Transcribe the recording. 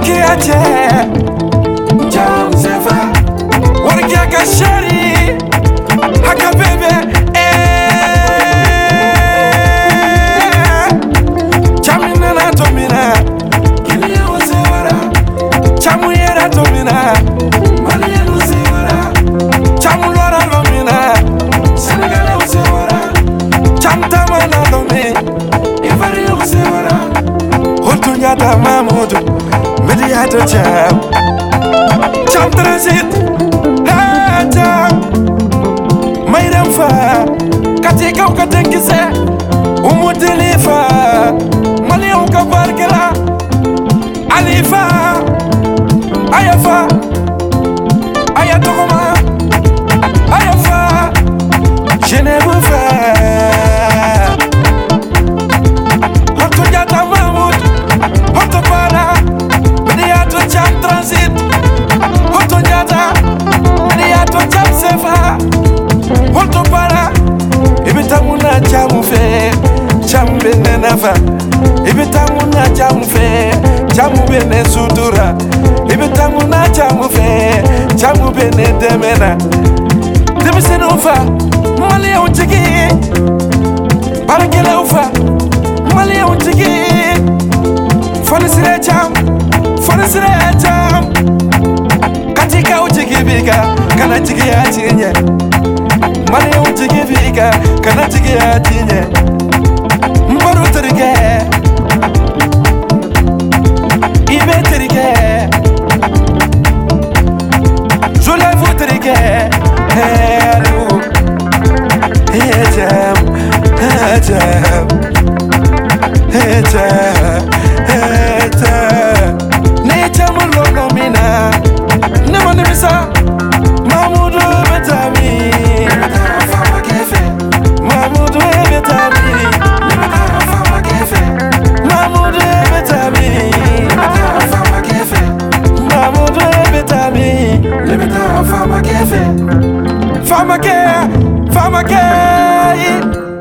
kiache jam sefa warga kashari haka bebe chamina na tomina kini usewara chamu yera tomina mali usewara chamu lora lomina senegale usewara chamtama na domi ivari usewara hotunyata mamudu mediato cham cham transit ha cham mayram fa katika ukatenkise umudilifa mali ukabarkela alifa ayafa ayatokoma ayafa jenevu fa hotunyata mamud hotopara mediato cham transit hotunyata mediato cham sefa hotopara ibitamuna chamu fe chamu bene nafa ibitamuna chamu fe chamu bene sutura ibitamuna chamu fe chamu bene demena debisene ufa mali unjigi barakele ufa mali unjigi fonisire cham katika unjigi bika kana jigi ya chinye mali unjigi bika kana jigi ya chinye mbaru terike ibe terike jolevu terike hello hejam nejam lolomina nemanimisa mamudu betami fama kefe mamudu betami fama kefe mamudu betami fama kefe mamudu betami fama kefe fama ke